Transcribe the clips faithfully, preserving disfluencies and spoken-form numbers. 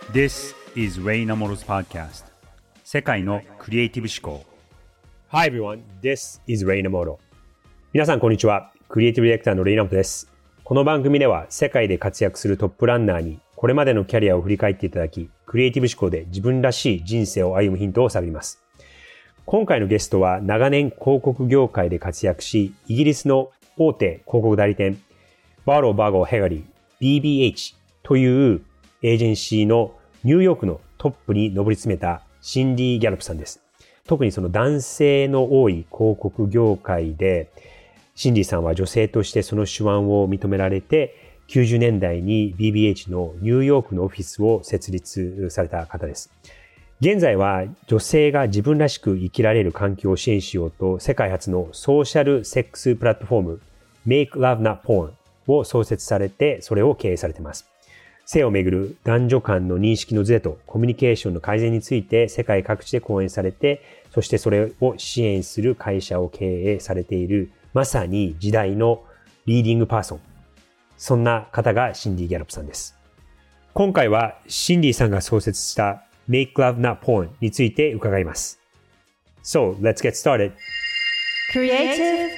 This is Ray Namoro's podcast. 世界のクリエイティブ思考。 Hi everyone, this is Ray Namoro. 皆さんこんにちは。クリエイティブディレクターのレイナモトです。この番組では世界で活躍するトップランナーにこれまでのキャリアを振り返っていただき、クリエイティブ思考で自分らしい人生を歩むヒントを探ります。今回のゲストは長年広告業界で活躍し、イギリスの大手広告代理店、バーロー・バーゴー・ヘガリー ビービーエイチ というエージェンシーのニューヨークのトップに上り詰めたシンディ・ギャロップさんです。特にその男性の多い広告業界で、シンディさんは女性としてその手腕を認められて、きゅうじゅうねんだいに ビービーエイチ のニューヨークのオフィスを設立された方です。現在は女性が自分らしく生きられる環境を支援しようと、世界初のソーシャルセックスプラットフォーム Make Love Not Porn を創設されて、それを経営されています。性をめぐる男女間の認識のズレとコミュニケーションの改善について世界各地で講演されて、そしてそれを支援する会社を経営されている、まさに時代のリーディングパーソン。そんな方がシンディ・ギャロップさんです。今回はシンディさんが創設した Make Love Not Porn について伺います。So, let's get started. Creative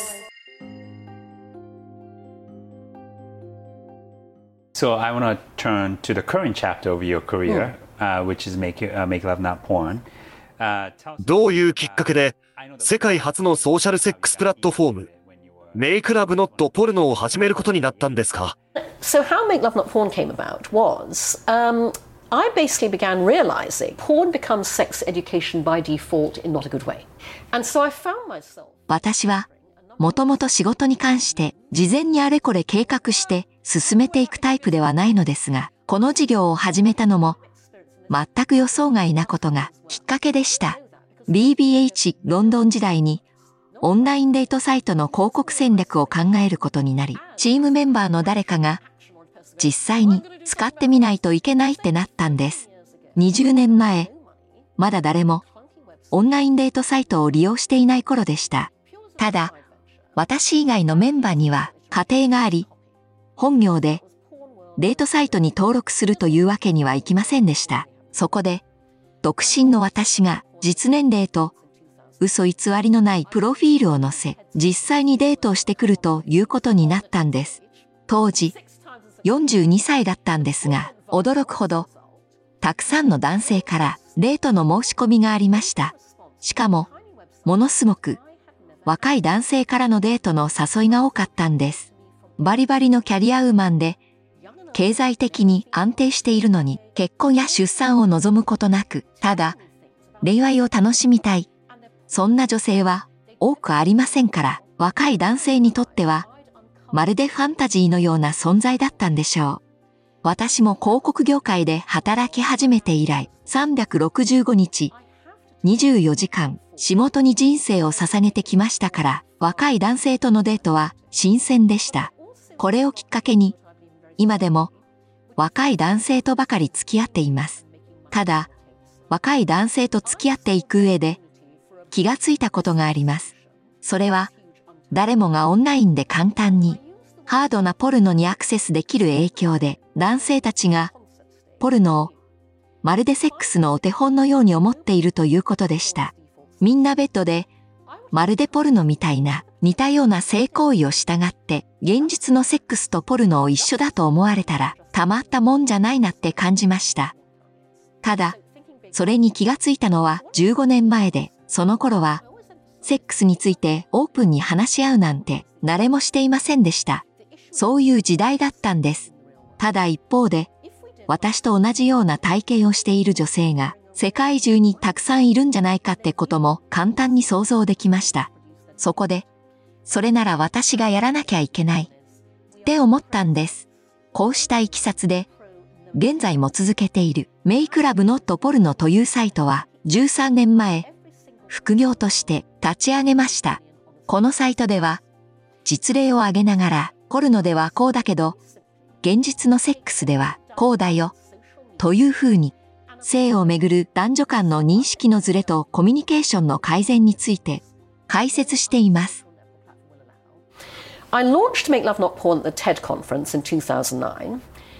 Voice.So I want to turn to the current chapter of your career, uh, which is Make, uh, Make Love Not Porn. Uh, どういうきっかけで世界初のソーシャルセックスプラットフォーム Make Love Not Porn を始めることになったんですか？ So how Make Love Not Porn came about was, um, I basically began realizing porn becomes sex education by default in not a good way. And so I found myself... 私はもともと仕事に関して事前にあれこれ計画して進めていくタイプではないのですが、この事業を始めたのも全く予想外なことがきっかけでした。ビービーエイチ ロンドン時代にオンラインデートサイトの広告戦略を考えることになり、チームメンバーの誰かが実際に使ってみないといけないってなったんです。にじゅうねんまえ、まだ誰もオンラインデートサイトを利用していない頃でした。ただ、私以外のメンバーには家庭があり、本業でデートサイトに登録するというわけにはいきませんでした。そこで、独身の私が実年齢と嘘偽りのないプロフィールを載せ、実際にデートをしてくるということになったんです。当時、よんじゅうにさいだったんですが、驚くほど、たくさんの男性からデートの申し込みがありました。しかも、ものすごく、若い男性からのデートの誘いが多かったんです。バリバリのキャリアウーマンで、経済的に安定しているのに結婚や出産を望むことなく、ただ、恋愛を楽しみたい。そんな女性は多くありませんから、若い男性にとっては、まるでファンタジーのような存在だったんでしょう。私も広告業界で働き始めて以来、さんびゃくろくじゅうごにち、にじゅうよじかん、仕事に人生を捧げてきましたから、若い男性とのデートは新鮮でした。これをきっかけに、今でも若い男性とばかり付き合っています。ただ、若い男性と付き合っていく上で気がついたことがあります。それは、誰もがオンラインで簡単にハードなポルノにアクセスできる影響で、男性たちがポルノをまるでセックスのお手本のように思っているということでした。みんなベッドで、まるでポルノみたいな似たような性行為を従って、現実のセックスとポルノを一緒だと思われたら、たまったもんじゃないなって感じました。ただ、それに気がついたのはじゅうごねんまえで、その頃は、セックスについてオープンに話し合うなんて誰もしていませんでした。そういう時代だったんです。ただ一方で、私と同じような体験をしている女性が、世界中にたくさんいるんじゃないかってことも簡単に想像できました。そこで、それなら私がやらなきゃいけないって思ったんです。こうしたいきさつで、現在も続けているMake Love Not Pornというサイトはじゅうさんねんまえ、副業として立ち上げました。このサイトでは、実例を挙げながら、ポルノではこうだけど、現実のセックスではこうだよ、というふうに、性をめぐる男女間の認識のズレとコミュニケーションの改善について解説しています。 I launched Make Love Not Porn at the TED conference in two thousand nine.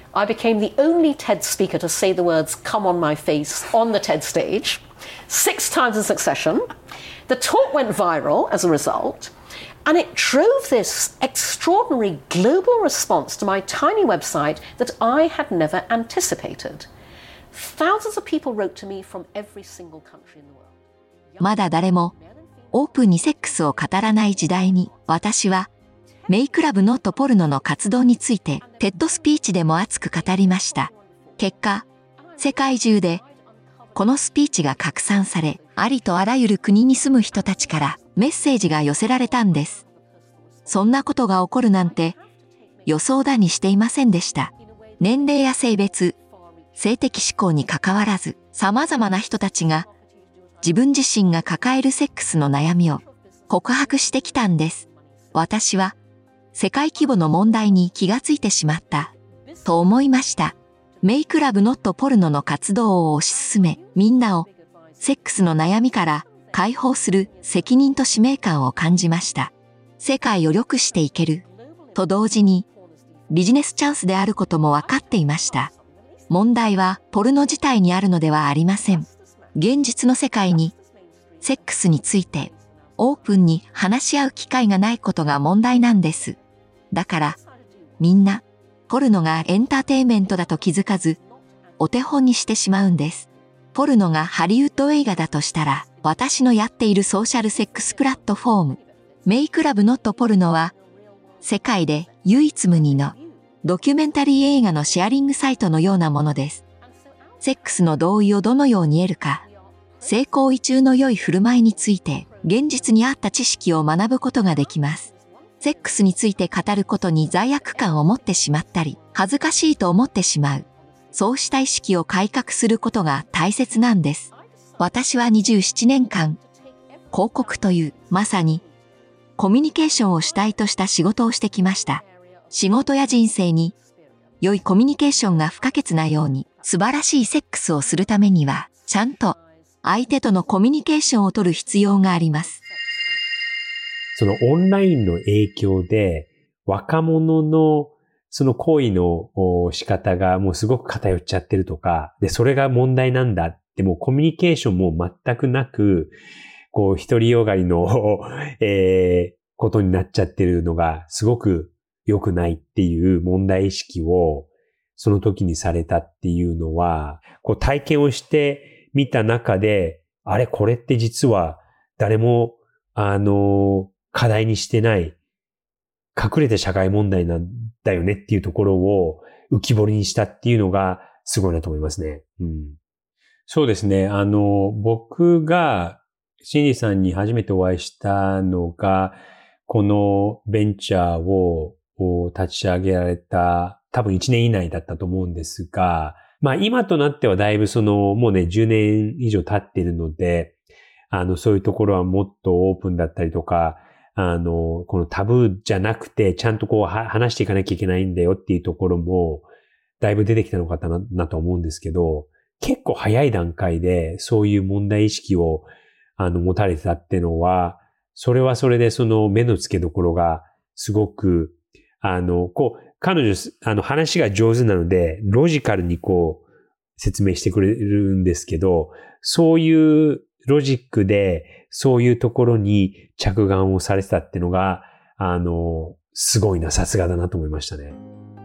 I became the only TED speaker to say the words "come on my face" on the TED stage, six times in succession. The talk went viral as a result, and it drove this extraordinary global response to my tiny website that I had never anticipated. Thousands of people wrote to me from every single country in the world. まだ誰もオープンにセックスを語らない時代に、私はメイクラブノットポルノの活動についてテッドスピーチでも熱く語りました。結果、世界中でこのスピーチが拡散され、ありとあらゆる国に住む人たちからメッセージが寄せられたんです。そんなことが起こるなんて予想だにしていませんでした。年齢や性別、性的指向にかかわらず、様々な人たちが自分自身が抱えるセックスの悩みを告白してきたんです。私は世界規模の問題に気がついてしまったと思いました。メイクラブノットポルノの活動を推し進め、みんなをセックスの悩みから解放する責任と使命感を感じました。世界を良くしていけると同時にビジネスチャンスであることも分かっていました。問題はポルノ自体にあるのではありません。現実の世界にセックスについてオープンに話し合う機会がないことが問題なんです。だからみんなポルノがエンターテインメントだと気づかずお手本にしてしまうんです。ポルノがハリウッド映画だとしたら、私のやっているソーシャルセックスプラットフォームメイクラブノットポルノは世界で唯一無二のドキュメンタリー映画のシェアリングサイトのようなものです。セックスの同意をどのように得るか、性行為中の良い振る舞いについて現実に合った知識を学ぶことができます。セックスについて語ることに罪悪感を持ってしまったり、恥ずかしいと思ってしまう。そうした意識を改革することが大切なんです。私はにじゅうななねんかん、広告というまさにコミュニケーションを主体とした仕事をしてきました。仕事や人生に良いコミュニケーションが不可欠なように、素晴らしいセックスをするためには、ちゃんと相手とのコミュニケーションを取る必要があります。 そのオンラインの影響で、若者のその行為の仕方がもうすごく偏っちゃってるとか、で、それが問題なんだって、もうコミュニケーションも全くなく、こう、独りよがりの、えー、ことになっちゃってるのがすごく良くないっていう問題意識をその時にされたっていうのは、こう体験をしてみた中で、あれこれって実は誰も、あの、課題にしてない、隠れた社会問題なんだよねっていうところを浮き彫りにしたっていうのがすごいなと思いますね。うん、そうですね。あの、僕がシンディさんに初めてお会いしたのが、このベンチャーを立ち上げられた多分いちねん以内だったと思うんですが、まあ今となってはだいぶそのもうねじゅうねん以上経っているので、あのそういうところはもっとオープンだったりとか、あのこのタブーじゃなくてちゃんとこう話していかなきゃいけないんだよっていうところもだいぶ出てきたのかな、なと思うんですけど、結構早い段階でそういう問題意識をあの持たれてたっていうのは、それはそれでその目の付けどころがすごく、あの、こう、彼女、あの話が上手なので、ロジカルにこう、説明してくれるんですけど、そういうロジックで、そういうところに着眼をされてたっていうのが、あの、すごいな、さすがだなと思いましたね。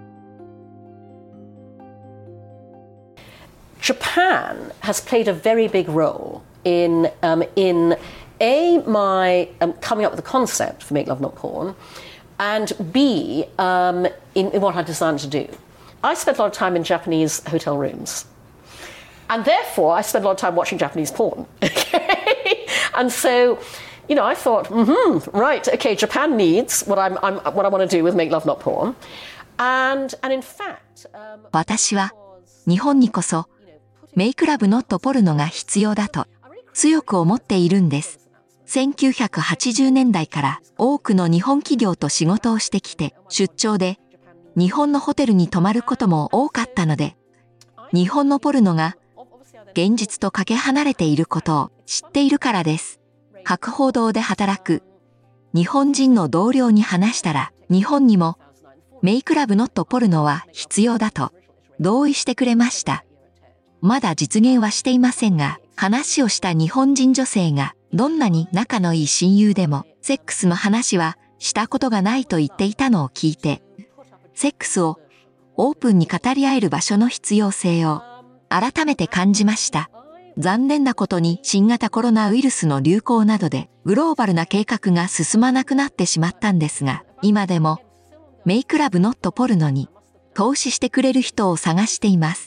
Japan has played a very big role in, um, in A, my um, coming up with the concept for Make Love Not Porn, and B, um, in, in what I designed to do. I spent a lot of time in Japanese hotel rooms, and therefore I spent a lot of time watching Japanese porn. Okay? And so, you know, I thought, mm-hmm, right, okay, Japan needs what I'm, I'm what I want to do with Make Love Not Porn, and and in fact, um, 私は日本にこそメイクラブノットポルノが必要だと強く思っているんです。せんきゅうひゃくはちじゅうねんだいから多くの日本企業と仕事をしてきて、出張で日本のホテルに泊まることも多かったので、日本のポルノが現実とかけ離れていることを知っているからです。博報堂で働く日本人の同僚に話したら、日本にもメイクラブノットポルノは必要だと同意してくれました。まだ実現はしていませんが、話をした日本人女性がどんなに仲のいい親友でもセックスの話はしたことがないと言っていたのを聞いて、セックスをオープンに語り合える場所の必要性を改めて感じました。残念なことに新型コロナウイルスの流行などでグローバルな計画が進まなくなってしまったんですが、今でもメイクラブノットポルノに投資してくれる人を探しています。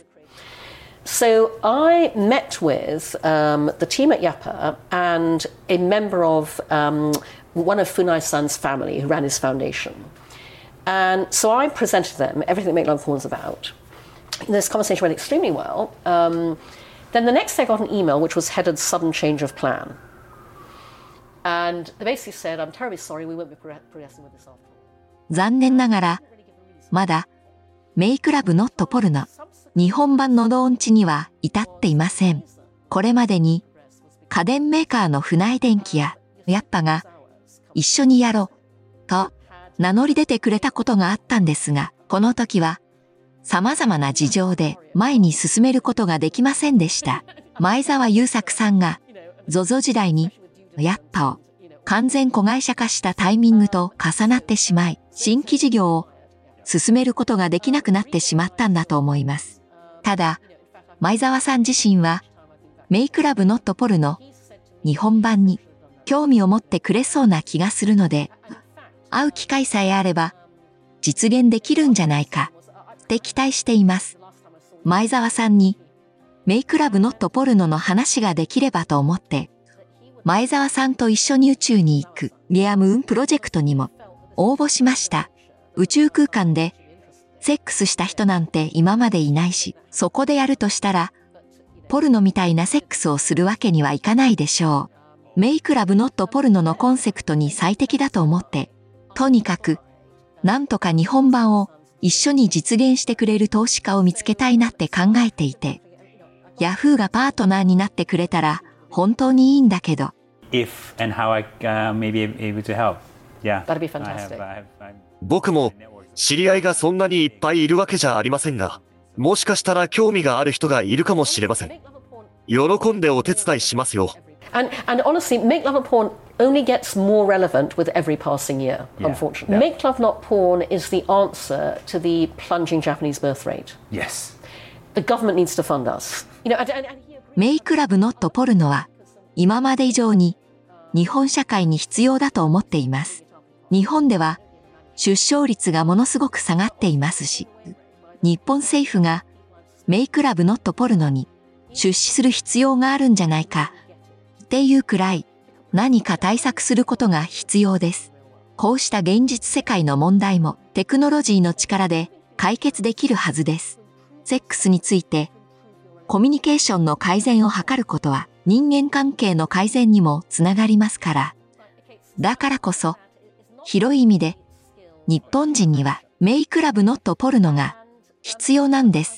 So I met with um, the team at Yappa and a member of um, one of Funai-san's family who ran his foundation. And so I presented them everything that Make Love Porn is about. This conversation went extremely well. Um, then the next day I got an email which was headed Sudden Change of Plan. And they basically said, I'm terribly sorry, we won't be progressing with this after all. 残念ながら、まだメイクラブノットポルノ日本版のローンチには至っていません。これまでに家電メーカーのフナイ電機やヤッパが一緒にやろうと名乗り出てくれたことがあったんですが、この時は様々な事情で前に進めることができませんでした。前澤友作さんが ゾゾ 時代にヤッパを完全子会社化したタイミングと重なってしまい、新規事業を進めることができなくなってしまったんだと思います。ただ、前澤さん自身は、メイクラブノットポルノ日本版に興味を持ってくれそうな気がするので、会う機会さえあれば、実現できるんじゃないか、って期待しています。前澤さんに、メイクラブノットポルノの話ができればと思って、前澤さんと一緒に宇宙に行くゲアムーンプロジェクトにも応募しました。宇宙空間で、セックスした人なんて今までいないし、そこでやるとしたら、ポルノみたいなセックスをするわけにはいかないでしょう。メイクラブノットポルノのコンセプトに最適だと思って、とにかく、なんとか日本版を一緒に実現してくれる投資家を見つけたいなって考えていて、ヤフーがパートナーになってくれたら本当にいいんだけど。 If and how I uh, may be able to help. Yeah. That'd be fantastic. I have, I have, 僕も知り合いがそんなにいっぱいいるわけじゃありませんが、もしかしたら興味がある人がいるかもしれません。喜んでお手伝いしますよ。 And, and honestly, Make Love Not Porn only gets more relevant with every passing year, Yeah. unfortunately. Yeah. Make Love Not Porn is the answer to the plunging Japanese birth rate. yes. The government needs to fund us. You know, and, and, and he agreed. メイクラブノットポルノは今まで以上に日本社会に必要だと思っています。日本では出生率がものすごく下がっていますし、日本政府がメイクラブノットポルノに出資する必要があるんじゃないかっていうくらい何か対策することが必要です。こうした現実世界の問題もテクノロジーの力で解決できるはずです。セックスについてコミュニケーションの改善を図ることは人間関係の改善にもつながりますから。だからこそ広い意味で日本人にはメイクラブノットポルノが必要なんです。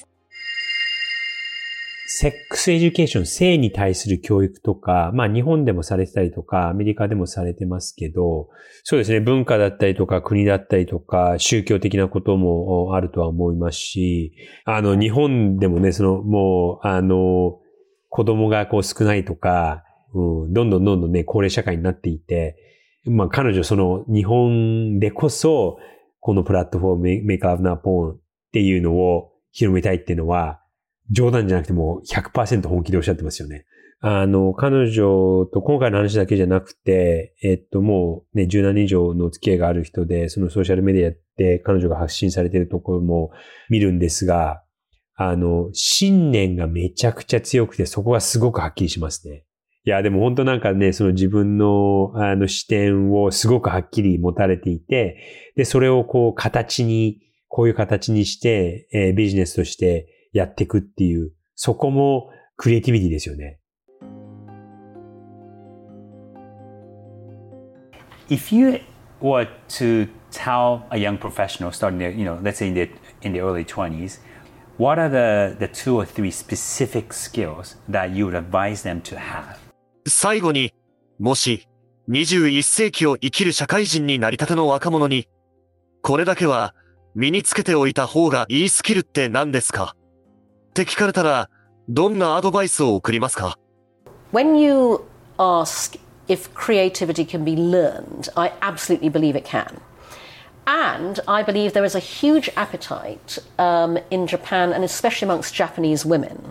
セックスエデュケーション、性に対する教育とか、まあ日本でもされてたりとか、アメリカでもされてますけど、そうですね、文化だったりとか国だったりとか、宗教的なこともあるとは思いますし、あの日本でもね、そのもう、あの、子供がこう少ないとか、うん、どんどんどんどんね、高齢社会になっていて、まあ彼女その日本でこそ、このプラットフォーム Make Love Not Porn っていうのを広めたいっていうのは、冗談じゃなくても ひゃくパーセント 本気でおっしゃってますよね。あの、彼女と今回の話だけじゃなくて、えっともうね、じゅうねん以上のお付き合いがある人で、そのソーシャルメディアで彼女が発信されているところも見るんですが、あの、信念がめちゃくちゃ強くて、そこがすごくはっきりしますね。いや、でも本当なんかね、その自分の、あの視点をすごくはっきり持たれていて、で、それをこう形に、こういう形にして、えー、ビジネスとしてやっていくっていう、そこもクリエイティビティですよね。 If you were to tell a young professional starting their, you know, let's say in their, in their early twenties, what are the, the two or three specific skills that you would advise them to have? 最後に、もしにじゅういっ世紀を生きる社会人になりたての若者に、これだけは身につけておいた方がいいスキルって何ですか？ って聞かれたら、どんなアドバイスを送りますか？ When you ask if creativity can be learned, I absolutely believe it can. And I believe there is a huge appetite um, in Japan, and especially amongst Japanese women,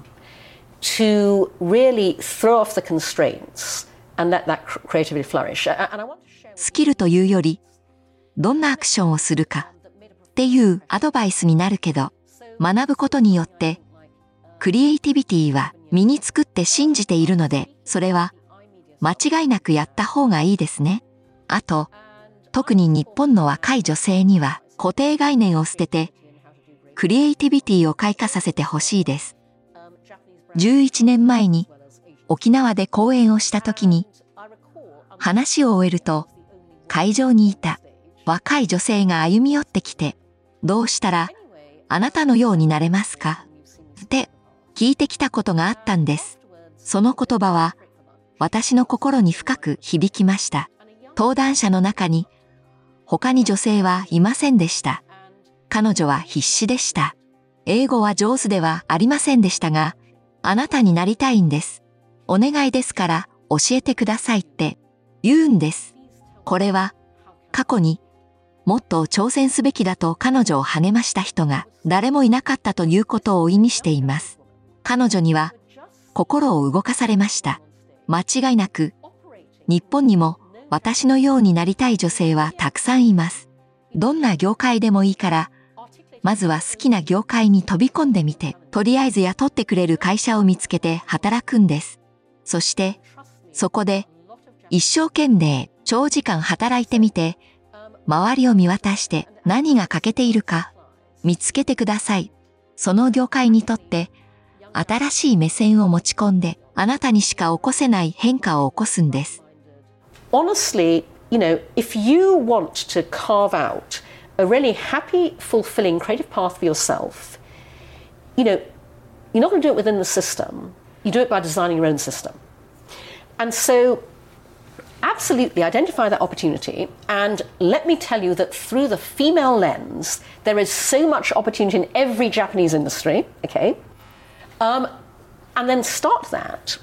to really throw off the constraints and let that creativity flourish. And I want to share... スキルというより、どんなアクションをするかっていうアドバイスになるけど、学ぶことによって、クリエイティビティは身につくって信じているので、それは間違いなくやった方がいいですね。あと、特に日本の若い女性には固定概念を捨てて、クリエイティビティを開花させてほしいです。じゅういちねんまえに沖縄で講演をした時に、話を終えると、会場にいた若い女性が歩み寄ってきて、どうしたらあなたのようになれますかって聞いてきたことがあったんです。その言葉は私の心に深く響きました。登壇者の中に他に女性はいませんでした。彼女は必死でした。英語は上手ではありませんでしたが、あなたになりたいんです。お願いですから教えてくださいって言うんです。これは過去にもっと挑戦すべきだと彼女を励ました人が誰もいなかったということを意味しています。彼女には心を動かされました。間違いなく日本にも私のようになりたい女性はたくさんいます。どんな業界でもいいから、まずは好きな業界に飛び込んでみて、とりあえず雇ってくれる会社を見つけて働くんです。そして、そこで一生懸命長時間働いてみて、周りを見渡して何が欠けているか見つけてください。その業界にとって新しい目線を持ち込んで、あなたにしか起こせない変化を起こすんです。 Honestly, you know, if you want to carve out a really happy, fulfilling, creative path for yourself, you know, you're not going to do it within the system. You do it by designing your own system. And so, absolutely identify that opportunity. And let me tell you that through the female lens, there is so much opportunity in every Japanese industry, okay? Um, and then start that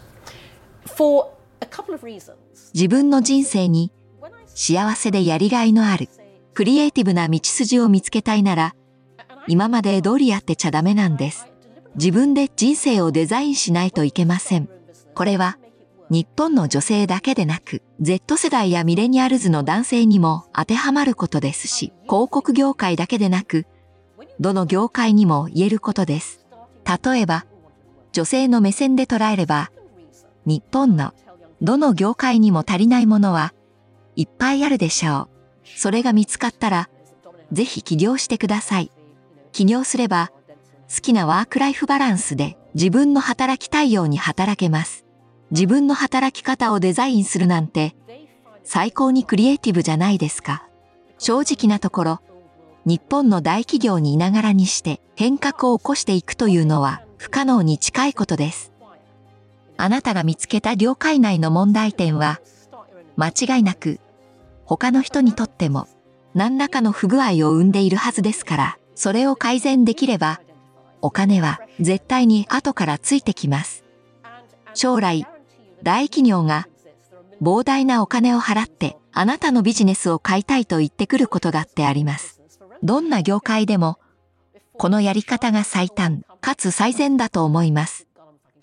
for a couple of reasons. 自分の人生に幸せでやりがいのあるクリエイティブな道筋を見つけたいなら、今まで通りやってちゃダメなんです。自分で人生をデザインしないといけません。これは日本の女性だけでなく、Z 世代やミレニアルズの男性にも当てはまることですし、広告業界だけでなく、どの業界にも言えることです。例えば、女性の目線で捉えれば、日本のどの業界にも足りないものはいっぱいあるでしょう。それが見つかったら、ぜひ起業してください。起業すれば、好きなワークライフバランスで自分の働きたいように働けます。自分の働き方をデザインするなんて、最高にクリエイティブじゃないですか。正直なところ、日本の大企業にいながらにして変革を起こしていくというのは不可能に近いことです。あなたが見つけた業界内の問題点は、間違いなく他の人にとっても何らかの不具合を生んでいるはずですから、それを改善できれば、お金は絶対に後からついてきます。将来、大企業が膨大なお金を払ってあなたのビジネスを買いたいと言ってくることだってあります。どんな業界でも、このやり方が最短かつ最善だと思います。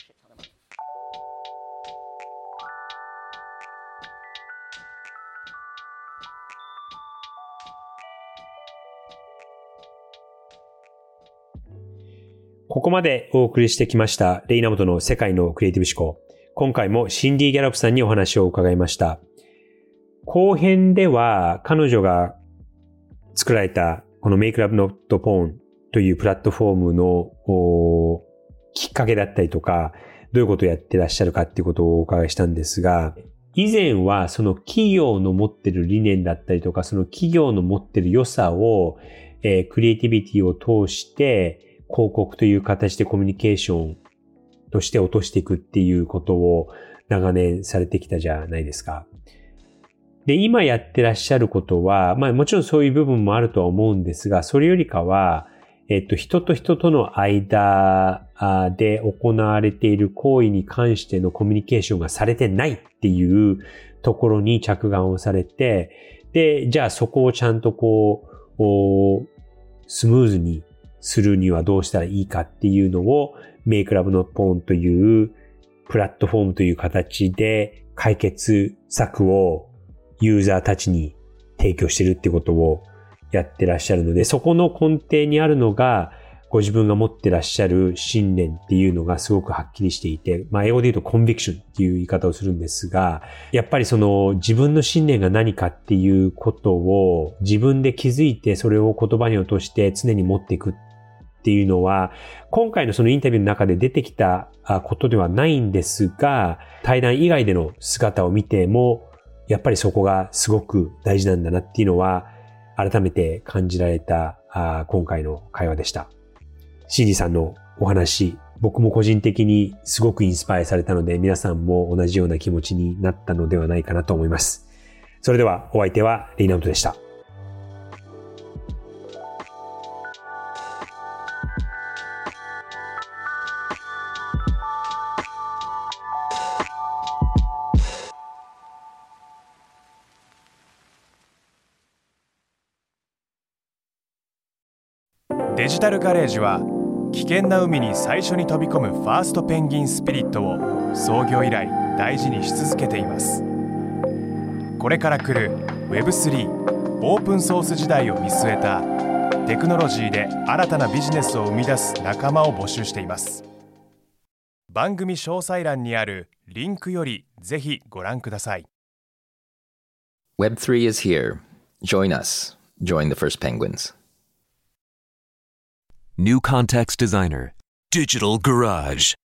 ここまでお送りしてきましたレイナモトの世界のクリエイティブ思考。今回もシンディ・ギャラップさんにお話を伺いました。後編では彼女が作られたこの Make Love Not Porn というプラットフォームのきっかけだったりとか、どういうことをやってらっしゃるかっていうことをお伺いしたんですが、以前はその企業の持ってる理念だったりとか、その企業の持ってる良さを、えー、クリエイティビティを通して広告という形でコミュニケーションとして落としていくっていうことを長年されてきたじゃないですか。で、今やってらっしゃることは、まあもちろんそういう部分もあるとは思うんですが、それよりかは、 えっと、人と人との間で行われている行為に関してのコミュニケーションがされてないっていうところに着眼をされて、で、じゃあそこをちゃんとこう、スムーズにするにはどうしたらいいかっていうのを、Make Love Not Porn というプラットフォームという形で解決策をユーザーたちに提供してるってことをやってらっしゃるので、そこの根底にあるのが、ご自分が持ってらっしゃる信念っていうのがすごくはっきりしていて、まあ英語で言うとコンビクションっていう言い方をするんですが、やっぱりその自分の信念が何かっていうことを自分で気づいてそれを言葉に落として常に持っていくっていうのは、今回のそのインタビューの中で出てきたことではないんですが、対談以外での姿を見ても、やっぱりそこがすごく大事なんだなっていうのは、改めて感じられた今回の会話でした。シーディーさんのお話、僕も個人的にすごくインスパイアされたので、皆さんも同じような気持ちになったのではないかなと思います。それではお相手はレイナウトでした。 デジタルガレージは危険な海に最初に飛び込むファーストペンギンスピリットを創業以来大事にし続けています。これから来る ウェブスリー オープンソース時代を見据えたテクノロジーで新たなビジネスを生み出す仲間を募集しています。番組詳細欄にあるリンクよりぜひご覧ください。 ウェブスリー is here. Join us. Join the first penguins. New Context Designer, Digital Garage.